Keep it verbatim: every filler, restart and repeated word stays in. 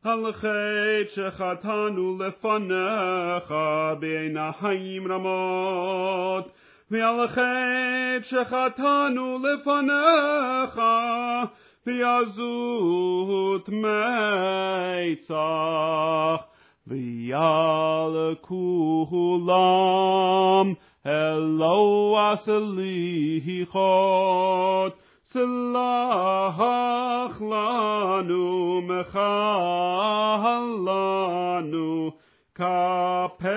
על חטא שחטאנו לפניך בעיניים רמות, ועל חטא שחטאנו לפניך בעזות מצח, ועל כולם אלוה סליחות, סלח לנו מחל לנו כפר